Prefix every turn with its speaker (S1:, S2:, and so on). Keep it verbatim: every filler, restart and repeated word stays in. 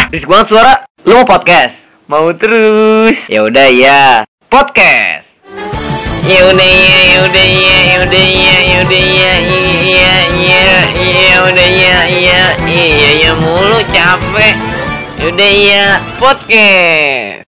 S1: Risik banget suara. Lu mau podcast? Mau terus? Ya udah ya. Podcast. Ya udah ya, ya udah ya, ya udah ya, ya udah ya, iya iya iya udah ya, iya iya ya mulu capek. Ya udah ya, podcast.